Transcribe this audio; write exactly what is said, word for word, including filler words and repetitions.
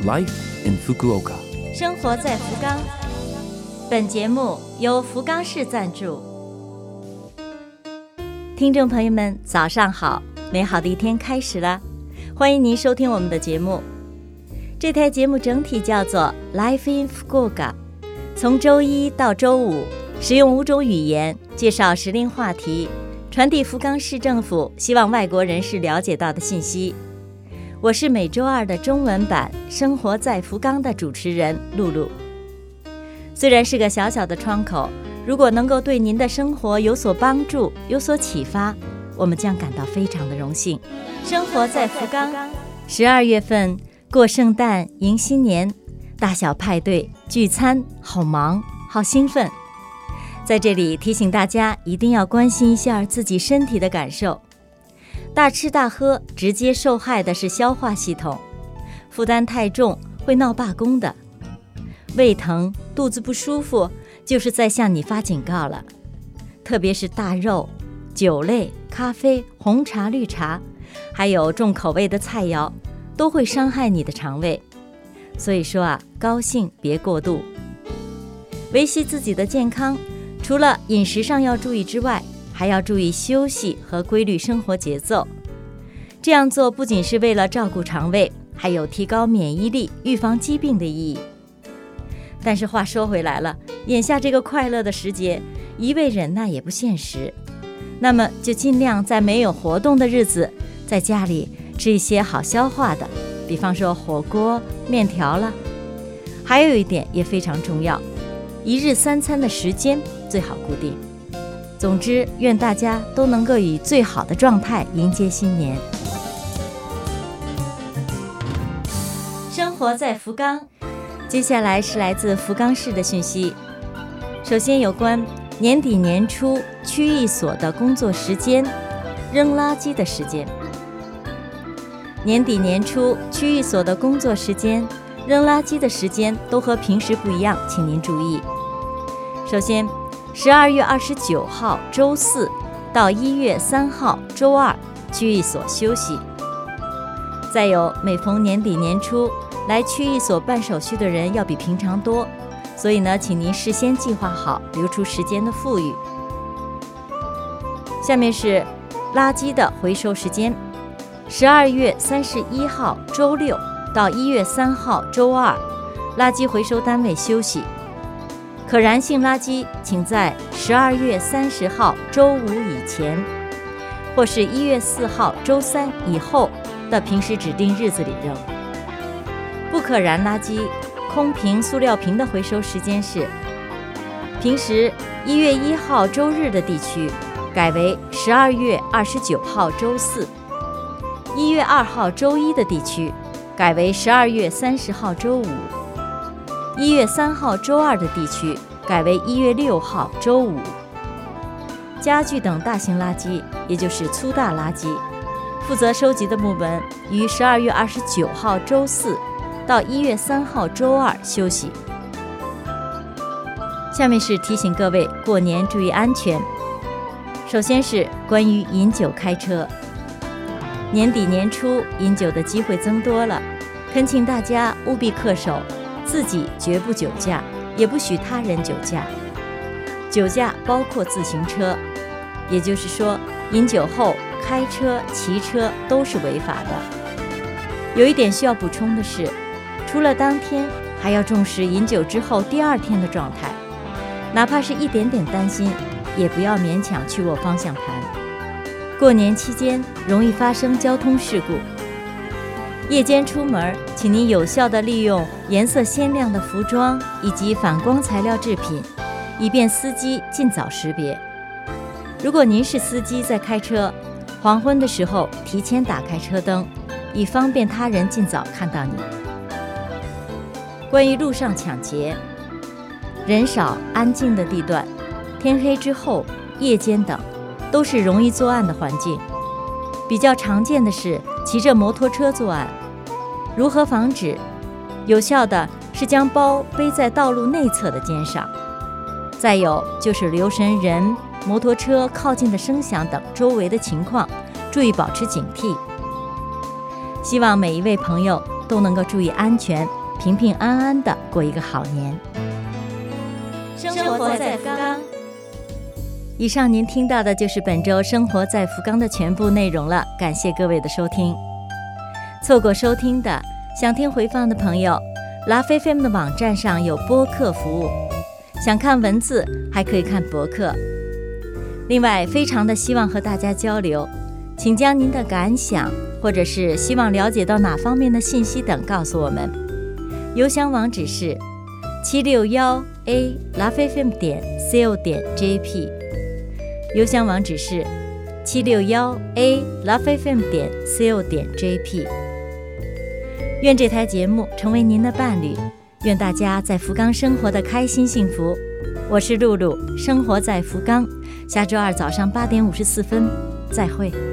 Life in Fukuoka， 生活在福冈。本节目由福冈市赞助。听众朋友们，早上好，美好的一天开始了，欢迎您收听我们的节目。这台节目整体叫做 Life in Fukuoka， 从周一到周五，使用五种语言介绍时令话题，传递福冈市政府希望外国人士了解到的信息。我是每周二的中文版生活在福冈的主持人露露。虽然是个小小的窗口，如果能够对您的生活有所帮助，有所启发，我们将感到非常的荣幸。生活在福冈，十二月份过圣诞迎新年，大小派对聚餐，好忙好兴奋。在这里提醒大家一定要关心一下自己身体的感受。大吃大喝直接受害的是消化系统，负担太重会闹罢工的。胃疼肚子不舒服就是在向你发警告了，特别是大肉、酒类、咖啡、红茶、绿茶，还有重口味的菜肴，都会伤害你的肠胃。所以说啊，高兴别过度。维系自己的健康，除了饮食上要注意之外，还要注意休息和规律生活节奏。这样做不仅是为了照顾肠胃，还有提高免疫力、预防疾病的意义。但是话说回来了，眼下这个快乐的时节，一味忍耐也不现实。那么就尽量在没有活动的日子，在家里吃一些好消化的，比方说火锅、面条了。还有一点也非常重要，一日三餐的时间最好固定。总之，愿大家都能够以最好的状态迎接新年。生活在福冈，接下来是来自福冈市的讯息。首先有关年底年初区役所的工作时间、扔垃圾的时间。年底年初区役所的工作时间、扔垃圾的时间都和平时不一样，请您注意。首先十二月二十九号周四到一月三号周二，区役所休息。再有，每逢年底年初来区役所办手续的人要比平常多，所以呢，请您事先计划好，留出时间的富裕。下面是垃圾的回收时间，十二月三十一号周六到一月三号周二，垃圾回收单位休息。可燃性垃圾请在十二月三十号周五以前，或是一月四号周三以后的平时指定日子里扔。不可燃垃圾、空瓶、塑料瓶的回收时间是：平时一月一号周日的地区改为十二月二十九号周四；一月二号周一的地区改为十二月三十号周五；一月三号周二的地区改为一月六号周五。家具等大型垃圾，也就是粗大垃圾，负责收集的部门于十二月二十九号周四到一月三号周二休息。下面是提醒各位过年注意安全。首先是关于饮酒开车，年底年初饮酒的机会增多了，恳请大家务必恪守自己绝不酒驾，也不许他人酒驾。酒驾包括自行车，也就是说饮酒后开车、骑车都是违法的。有一点需要补充的是，除了当天，还要重视饮酒之后第二天的状态，哪怕是一点点担心，也不要勉强去握方向盘。过年期间容易发生交通事故，夜间出门，请您有效地利用颜色鲜亮的服装以及反光材料制品，以便司机尽早识别。如果您是司机在开车，黄昏的时候提前打开车灯，以方便他人尽早看到你。关于路上抢劫，人少安静的地段，天黑之后、夜间等，都是容易作案的环境。比较常见的是骑着摩托车作案。如何防止？有效的是将包背在道路内侧的肩上。再有就是留神人、摩托车靠近的声响等周围的情况，注意保持警惕。希望每一位朋友都能够注意安全，平平安安的过一个好年。生活在福冈。以上您听到的就是本周生活在福冈的全部内容了，感谢各位的收听。错过收听的，想听回放的朋友， Love F M 的网站上有播客服务，想看文字还可以看博客。另外非常的希望和大家交流，请将您的感想或者是希望了解到哪方面的信息等告诉我们。邮箱网址是七六一 a love f m 点 co 点 j p， 邮箱网址是七六一 a love f m 点 co 点 j p。 愿这台节目成为您的伴侣，愿大家在福冈生活的开心幸福。我是露露，生活在福冈，下周二早上八点五十四分再会。